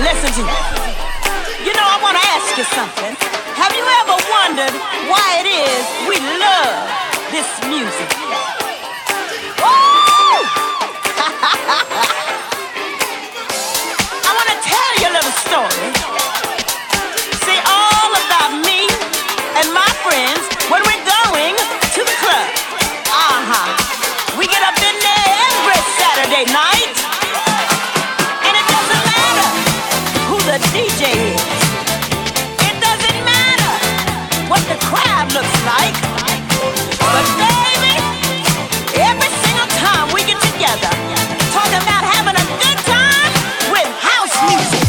Listen to me. You know, I want to ask you something. Have you ever wondered why it is we love this music? Woo! I want to tell you a little story. See, all about me and my friends when we're going to the club. We get up in there every Saturday night, and it doesn't matter who the DJ is. It doesn't matter what the crowd looks like. But baby, every single time we get together, talking about having a good time with house music.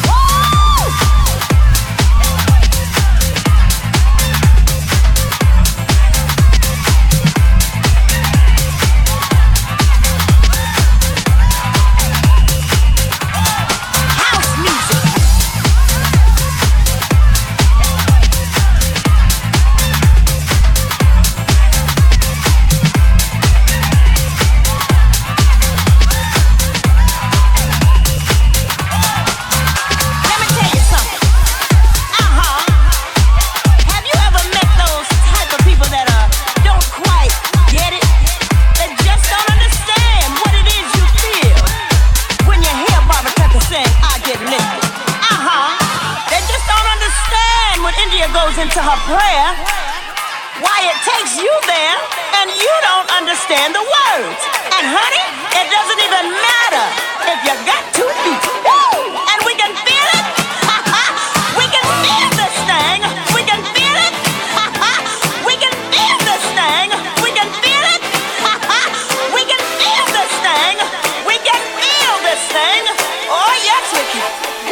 Into her prayer, why it takes you there and you don't understand the words. And honey, it doesn't even matter if you got 2 feet. Woo! And we can feel it. We can feel this thing. We can feel it. We can feel this thing. We can feel it. We can feel this thing. We can feel this thing. Oh yes, we can.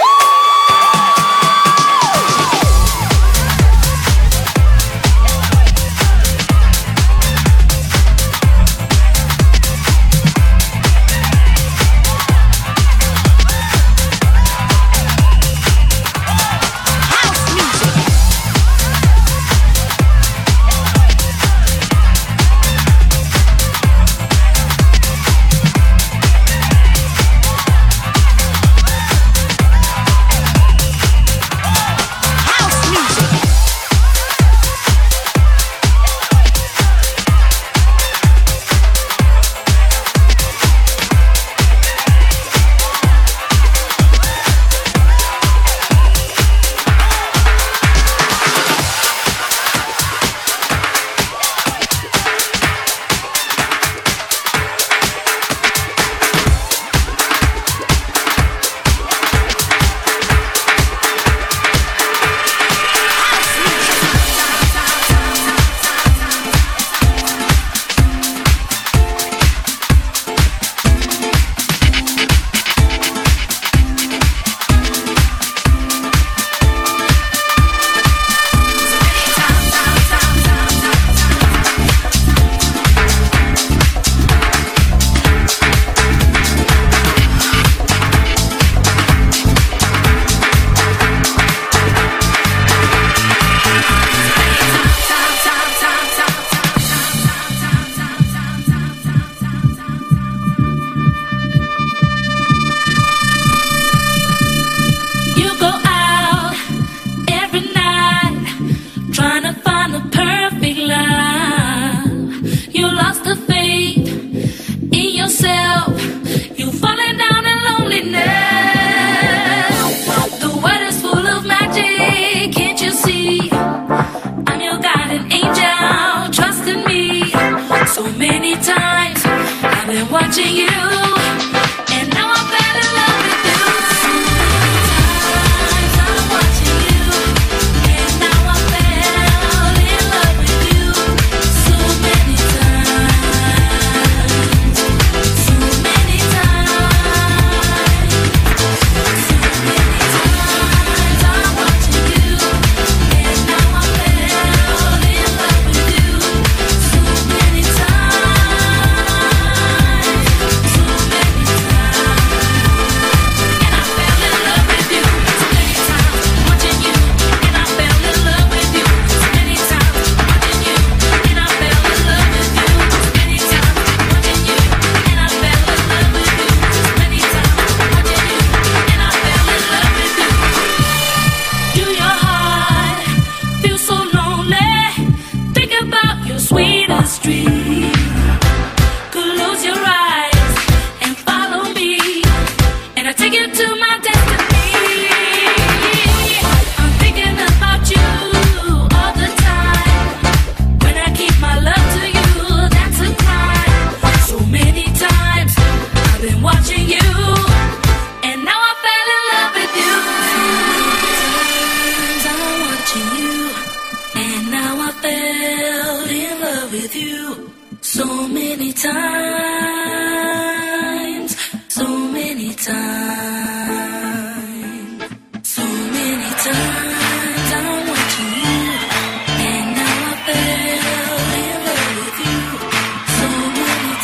Watching you, and now I fell in love with you. Sometimes I'm watching you, and now I fell in love with you. So many times, so many times, so many times I'm watching you, and now I fell in love with you. So many times. So you, and now I fell in love with you. Sometimes I'm watching you, and now I fell in love with you. So many times, so many times, so many times I'm watching you, and now I fell in love with you. So many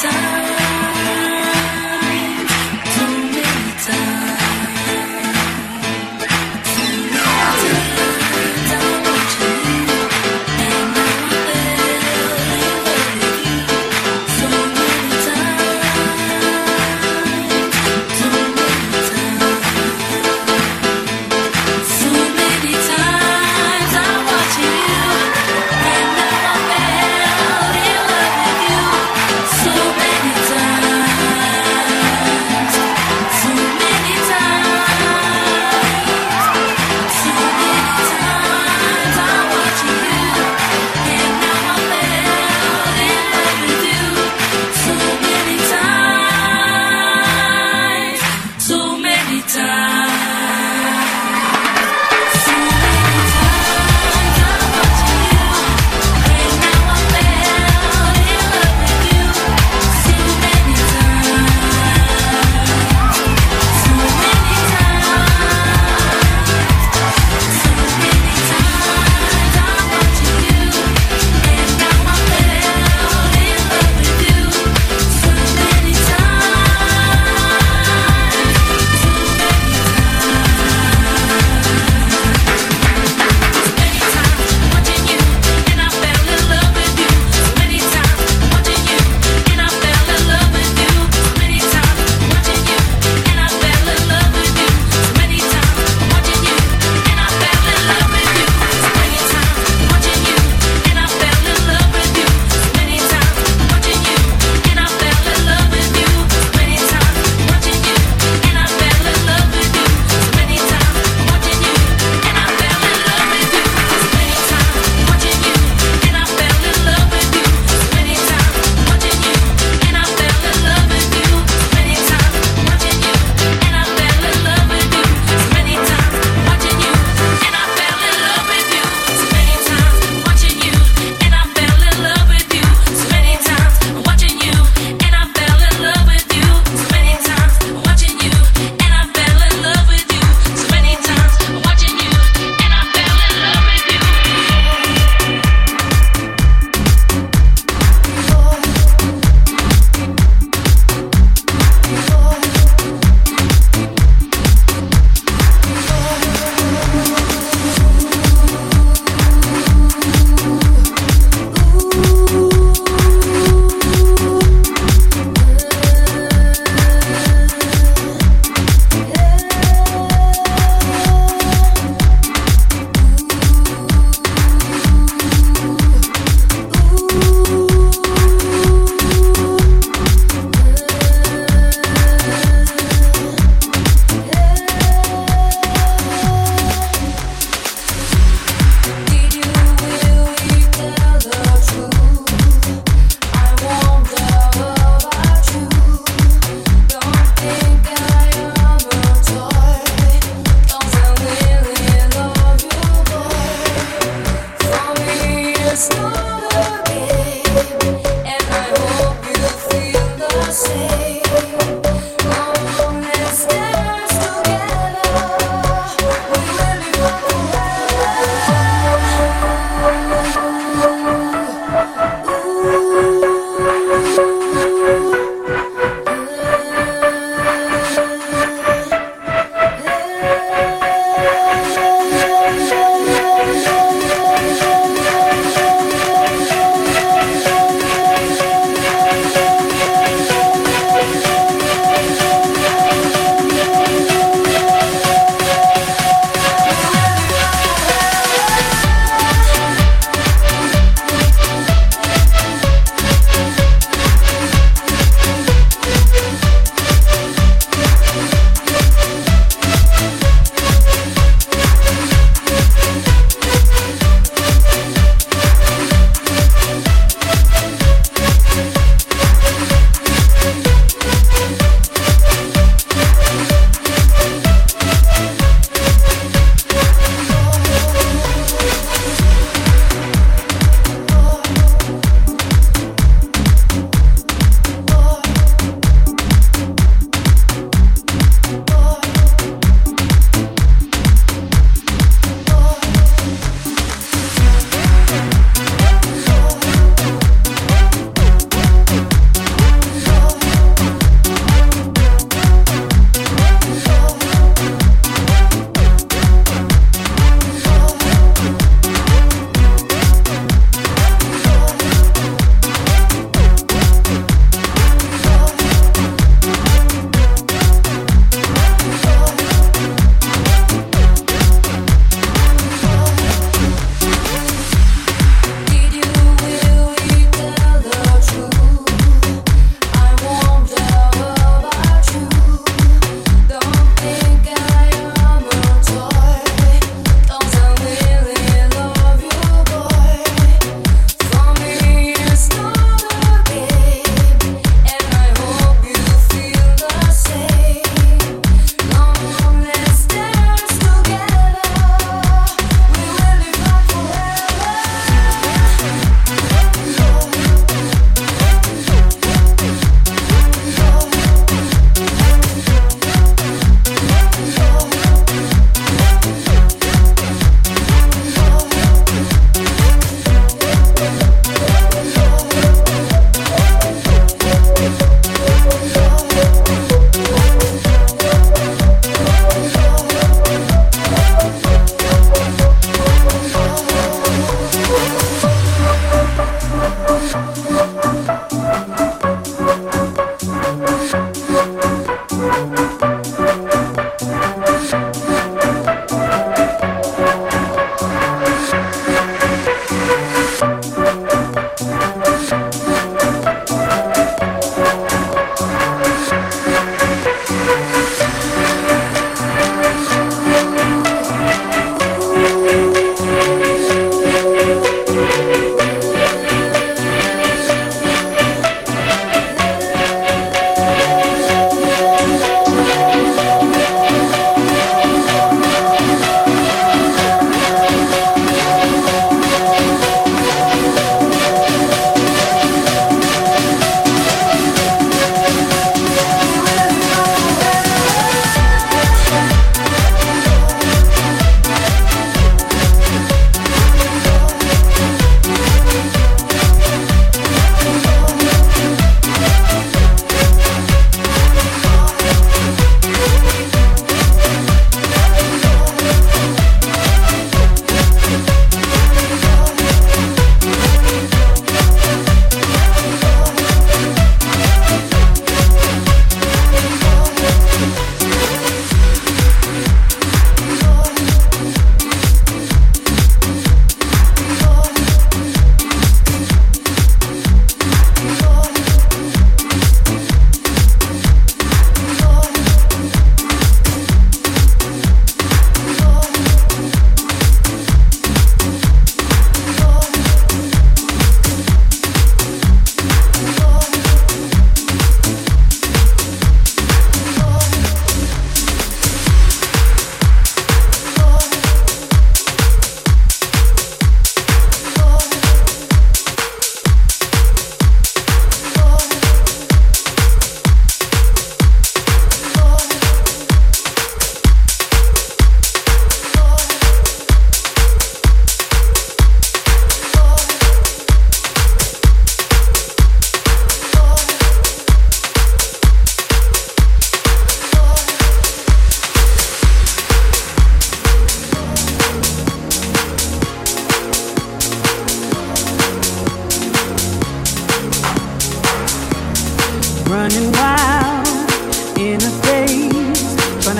times, so many times, so many times I'm watching you, and now I fell in love with you. So many times.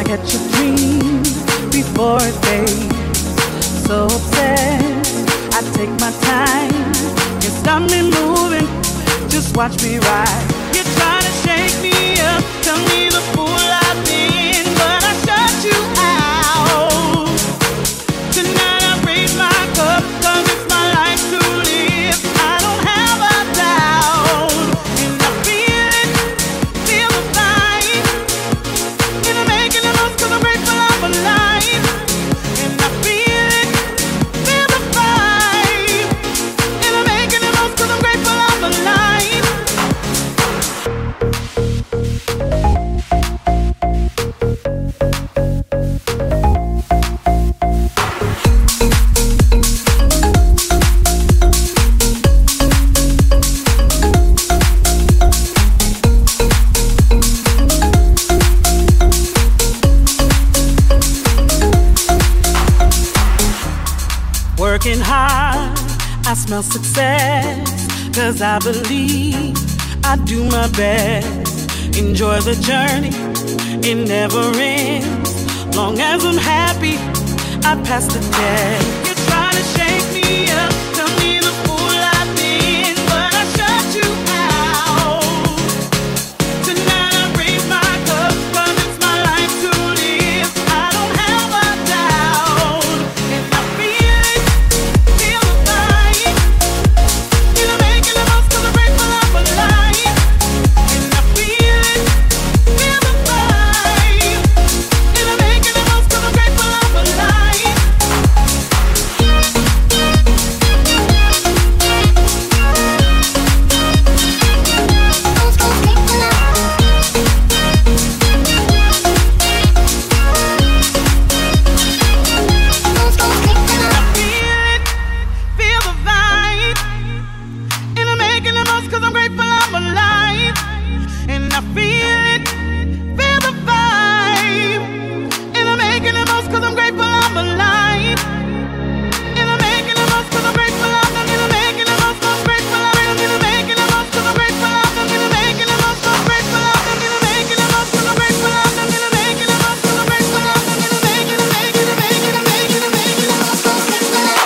catch a dream before it fades. So obsessed, I take my time. You stop me moving, just watch me ride. You try to shake me up, tell me the fool I've been, but I shut you out. Tonight I raise my cup, 'cause it's my life to live. I don't have a doubt, and I feel it, feel the fight. And I'm making the most 'cause I'm grateful I'm alive. And I feel it, feel the fight. And I'm making the most 'cause I'm grateful I'm alive. Working hard, I smell success, 'cause I believe I do my best. Enjoy the journey, it never ends. Long as I'm happy, I pass the test. You try to shake me up, tell me the fool I've been, but I shut you out. Tonight I raise my cup, 'cause it's my life to live. I don't have a doubt, and I feel it, feel the fight. And I'm making the most 'cause I'm grateful I'm alive. And I feel it, feel the fight. And I'm making the most 'cause I'm grateful I'm alive. I feel it, feel the vibe. And I'm making the most 'cause I'm grateful I'm alive. And I feel it, feel the vibe. And I'm making the most 'cause I'm grateful I'm alive. And I'm making the most 'cause I'm grateful I'm making the most 'cause I'm grateful I'm making the most 'cause I'm grateful I'm making the most 'cause I'm grateful I'm making the most 'cause I'm grateful I'm making the most 'cause I'm grateful I'm making the most 'cause I'm grateful I'm.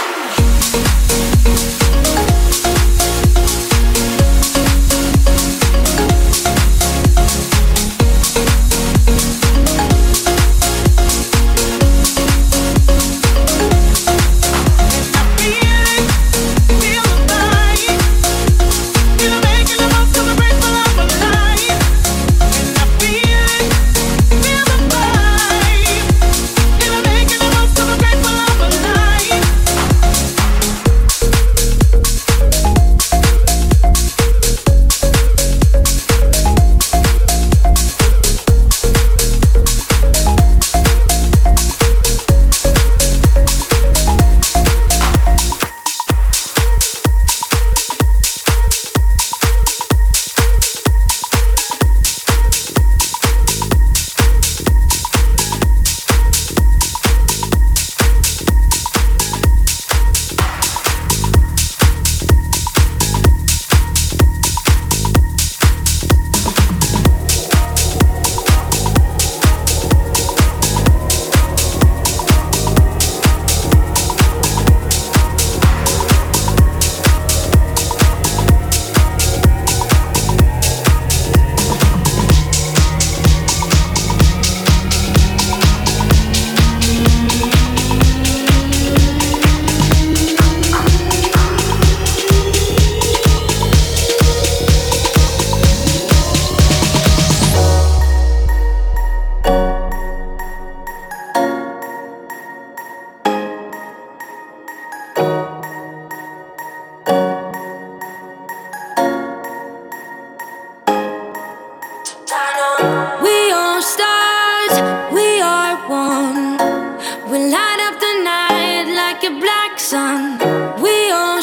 We are stars, we are one. We light up the night like a black sun. We all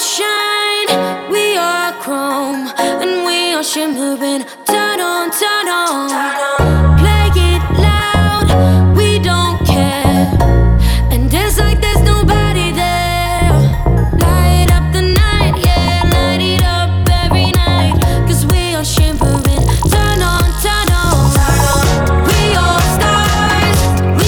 shine, we are chrome, and we are shimmering. Turn on, turn on. Play it loud, we don't care. And dance like there's nobody there. Light up the night, yeah, light it up every night. 'Cause we are shimmering. Turn on, turn on. We are stars,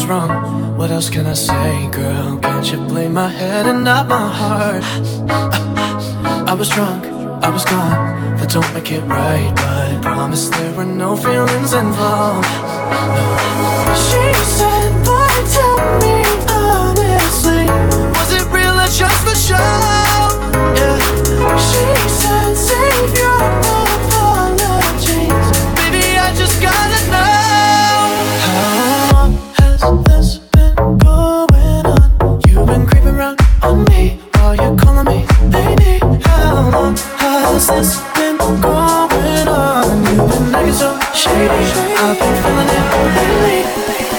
was wrong. What else can I say, girl? Can't you blame my head and not my heart? I was drunk, I was gone. That don't make it right, but I promise there were no feelings involved. No. She said, boy, tell me honestly, was it real or just for show? Yeah. She said, save your apologies. Baby, I just gotta know. How long has this been going on? You've been creeping around on me while you're calling me baby. How long has this been going on? You've been acting so shady. I've been feeling it lately.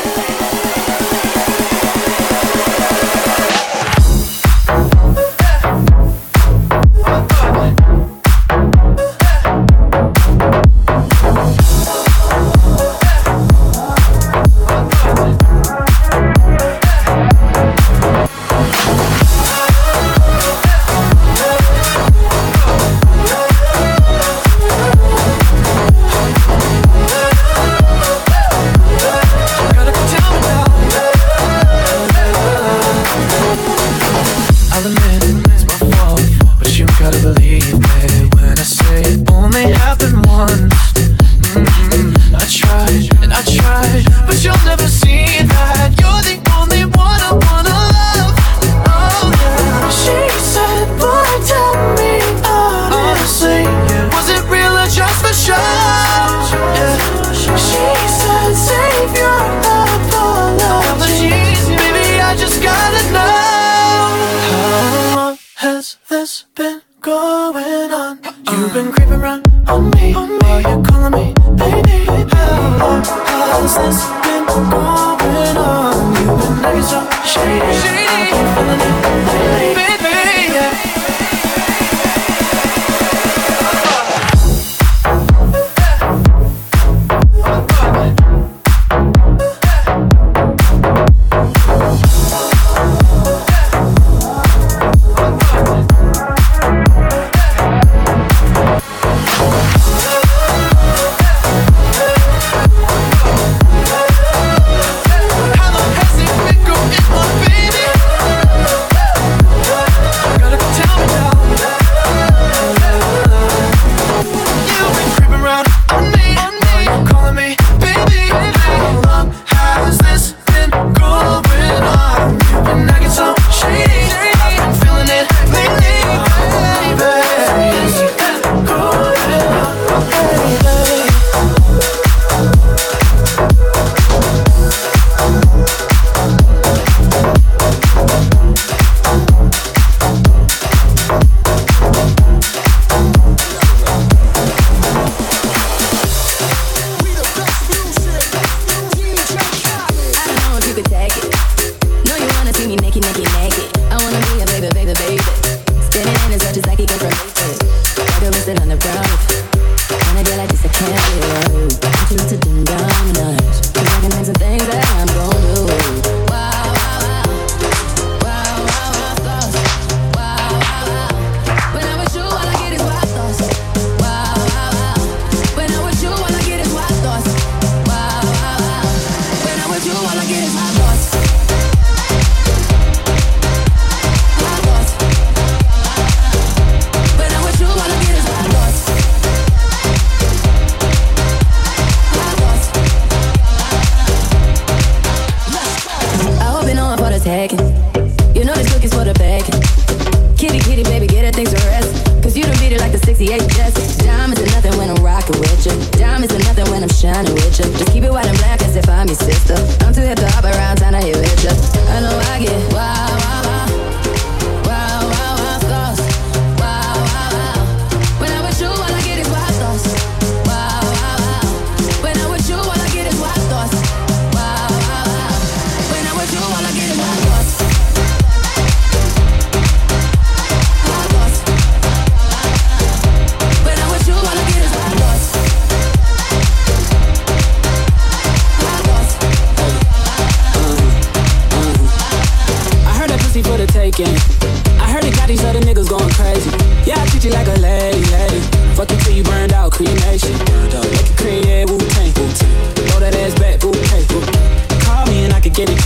I heard it got these other niggas going crazy. Yeah, I treat you like a lady. Fuck you till you burned out, cremation. Make it cream, yeah, Wu-Tang. Throw that ass back, Wu-Tang. Call me and I can get it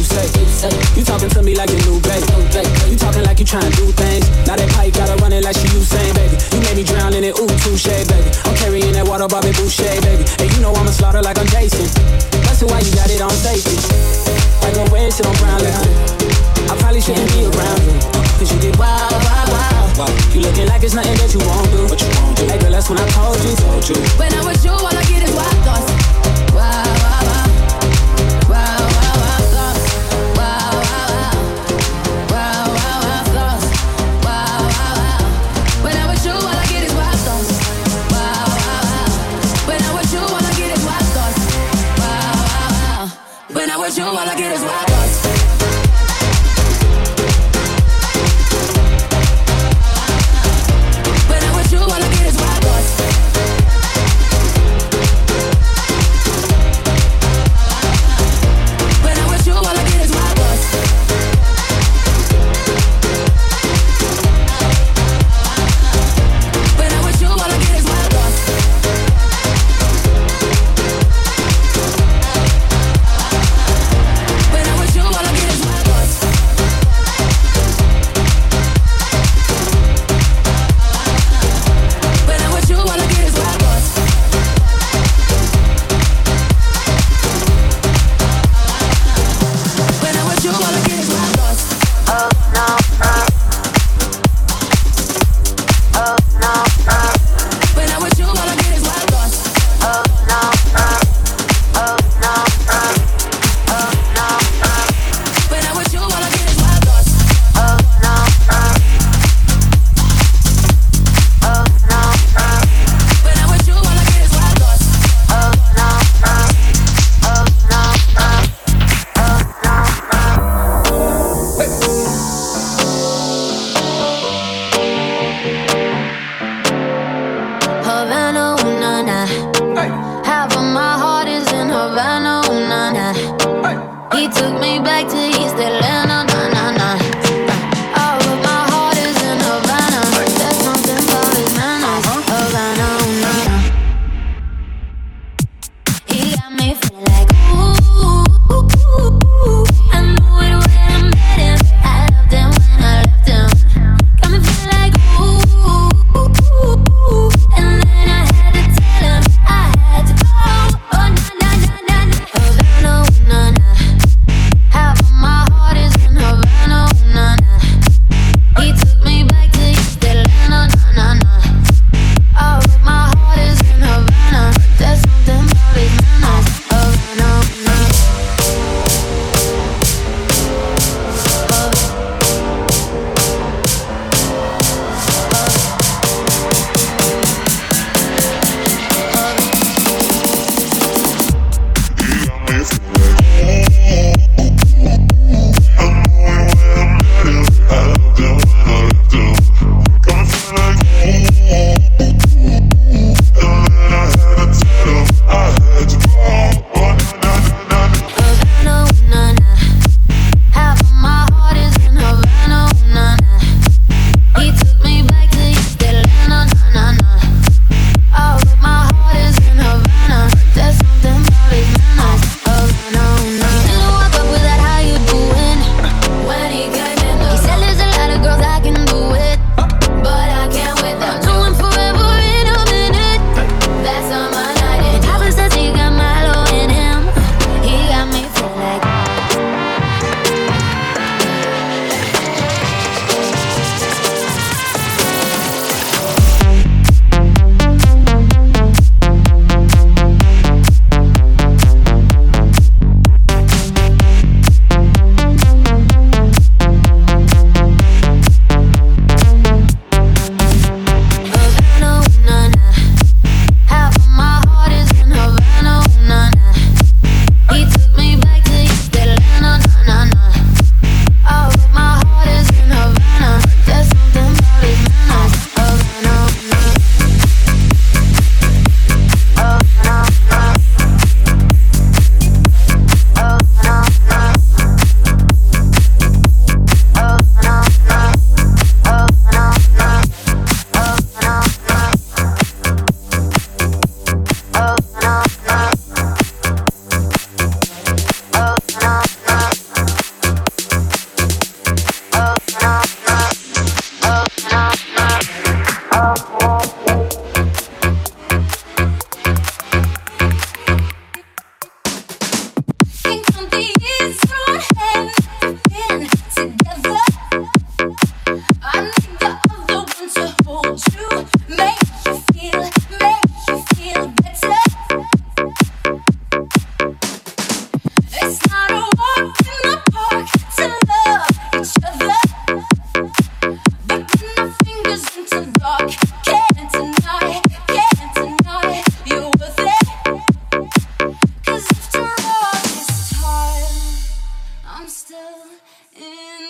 say. You talking to me like a new baby. You talking like you trying to do things. Now that pipe gotta run it like she Usain, baby. You made me drown in it, ooh, touche, baby. I'm carrying that water, Bobby Boucher, baby. And you know I'ma slaughter like I'm Jason. That's why you got it on safety. Like a red shit on brown liquor. I probably shouldn't be around you, cause you get wild, wild, wild. You looking like it's nothing that you won't do. Hey girl, that's when I told you. When I'm with you, all I get is wild thoughts. Wild, wild, wild. Wild, wild, wild thoughts. Wild, wild, wild. Wild, wild, wild thoughts. Wild, wild, wild. When I'm with you, all I get is wild thoughts. Wild, wild, wild. When I'm with you, all I get is wild thoughts. Wild, wild, wild. When I'm with you, all I get is wild thoughts. When I'm with you, all I get is wild thoughts.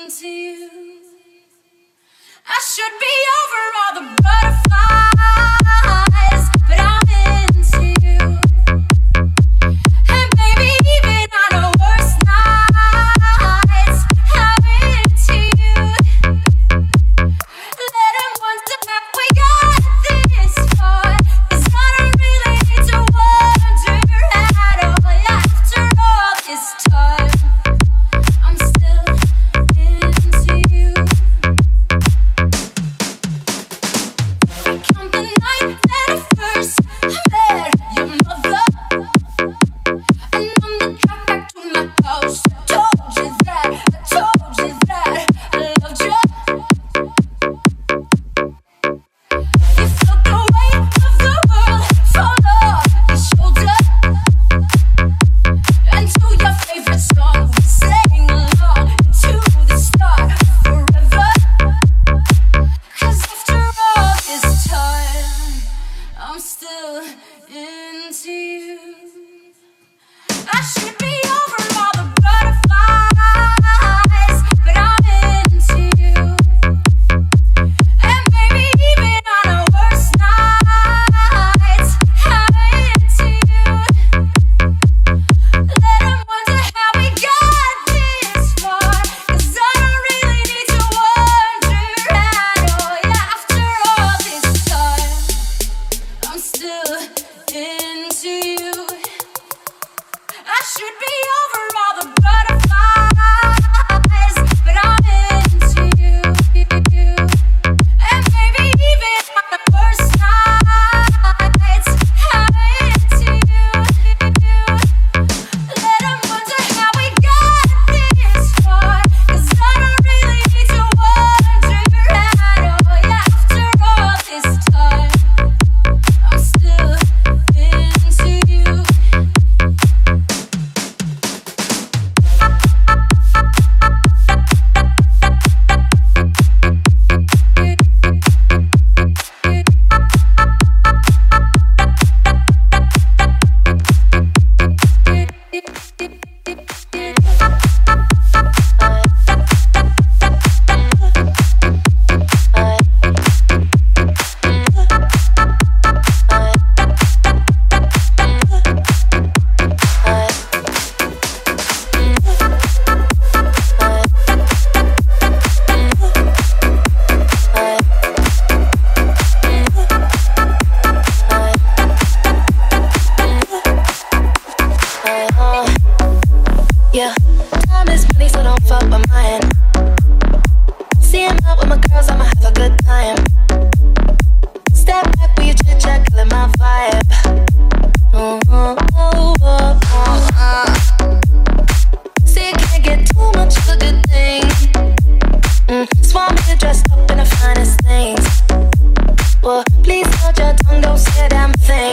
into you. I should be over all the butterflies, but I'm into you. And baby, even on our worst nights, I'm into you. Let them wonder how we got this far, 'cause I don't really need to wonder at all. After all this time, I'm still into you. From the night that I first met your mother, and on the drive back to my house, I told you that I loved you. You felt the weight of the world fall off your shoulder, and to your favorite song we sang along to the start of forever. 'Cause after all this time, I'm still into you. I should be over all the butterflies, but I'm into you. And baby, even on our worst nights, I'm into you. Let them wonder how we got this far, 'cause I don't really need to wonder at all. After all this time, I'm still into you. I should be over all the butterflies, but I'm into you. And baby, even on the worst nights, I'm into you. Let them wonder how we got this far, 'cause I don't really need to wonder at all. After all this time, I'm still into you. Yeah, time is money, so don't fuck with mine. See him out with my girls, I'ma have a good time. Step back with your chit chat, killing my vibe. See, you can't get too much of a good thing. Just want me to dress up in the finest things. Well, please hold your tongue, don't say a damn thing.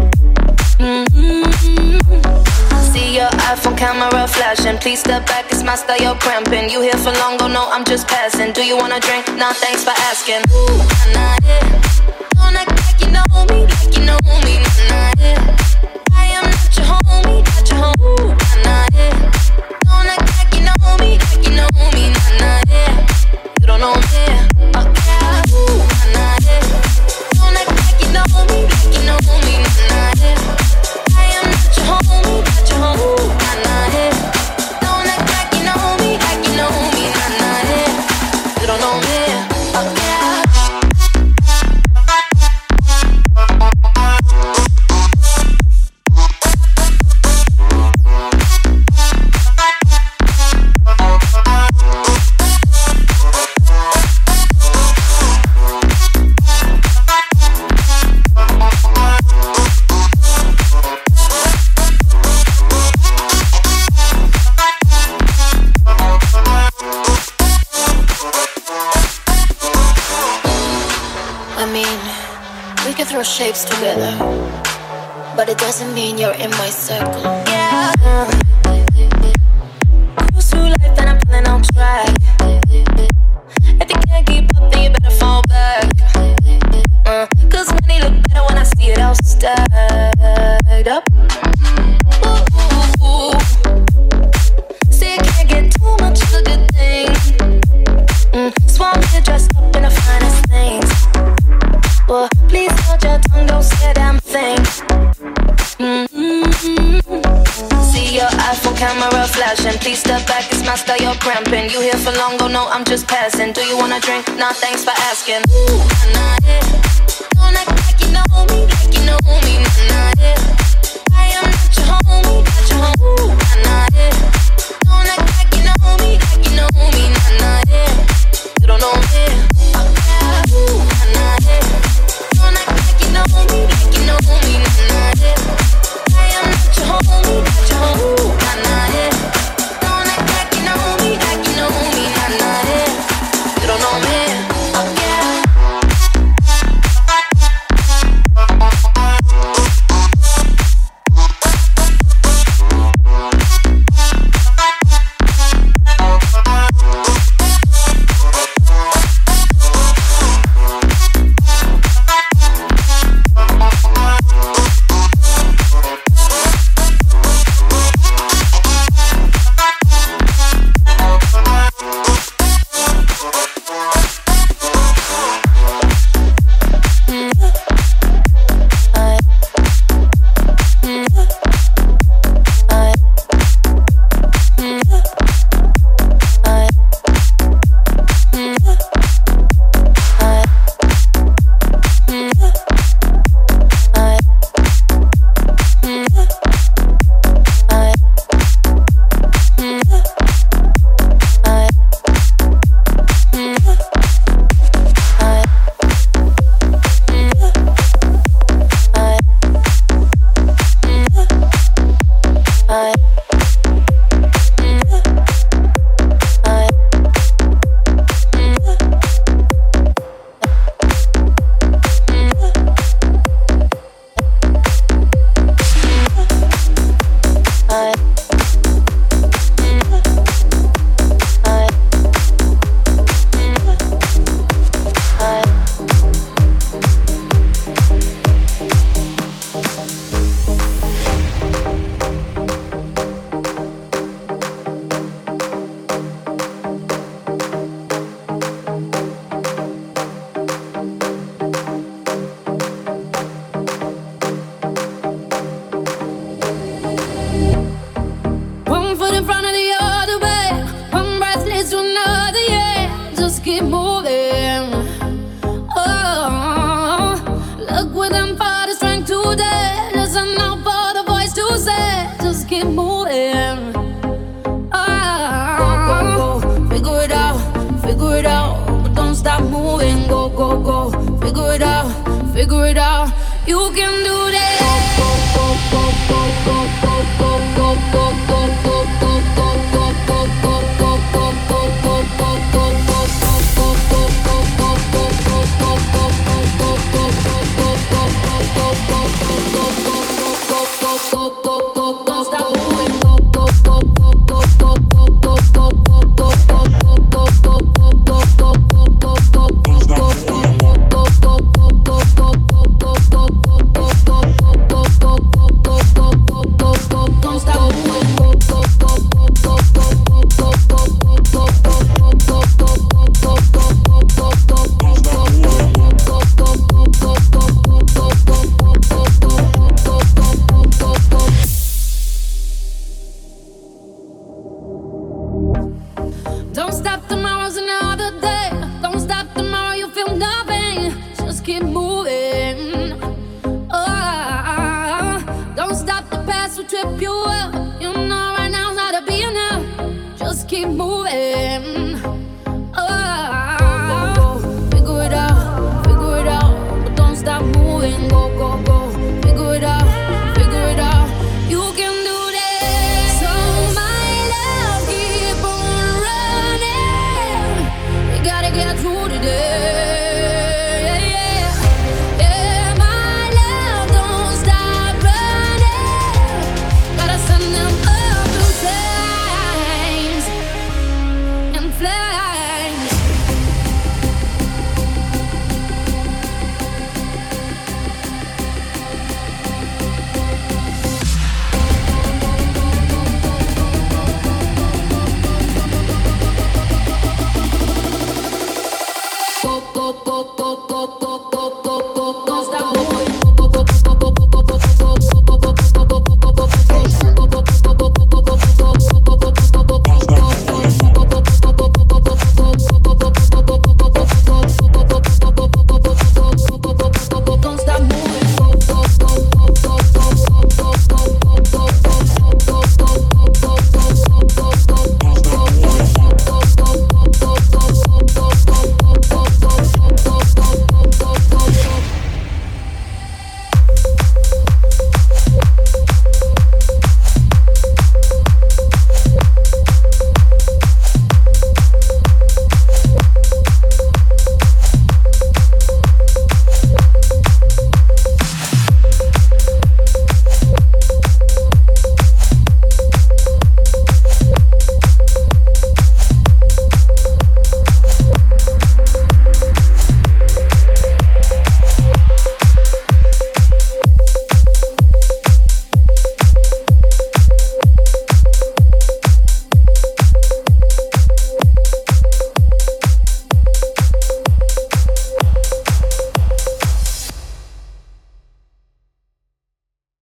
See your iPhone camera flashing. Please step back, it's my style, you're cramping. You here for long, oh no, I'm just passing. Do you wanna drink? Nah, thanks for asking. Ooh, nah, yeah. Don't act like you know me, like you know me, nah, yeah. I am not your homie, not your homie, nah, yeah. Don't act like you know me, like you know me, nah, yeah. You don't know me, okay, ooh, nah, yeah. Don't act like you know me, like you know me, nah, yeah. I am not your homie, not your homie, nah, yeah. Don't act like you know me, nah, yeah. You don't know me, okay. Throw shapes together, but it doesn't mean you're in my circle. Yeah. Cruise through life and I'm feeling on track. If you can't keep up, then you better fall back. 'Cause money look better when I see it all stacked up. Ooh. See, you can't get too much of a good thing. Please step back, it's my style, you're cramping. You here for long, oh no, I'm just passing. Do you wanna drink? Nah, thanks for asking. Ooh, nah, yeah. Don't act like you know me, nah, yeah. I am not your homie, Ooh, nah, yeah. Don't act like you know me, nah, yeah. You don't know me, Ooh, nah, yeah. Don't act like you know me, nah, yeah. I am not your homie, Ooh, nah, yeah. Don't act like you know me, nah, yeah. You don't know me, yeah. Figure it out, you can do that. Don't stop, tomorrow's another day. Don't stop, tomorrow you feel nothing. Just keep moving. Oh, don't stop, the past will trip you up. You know right now's how to be enough. Just keep moving.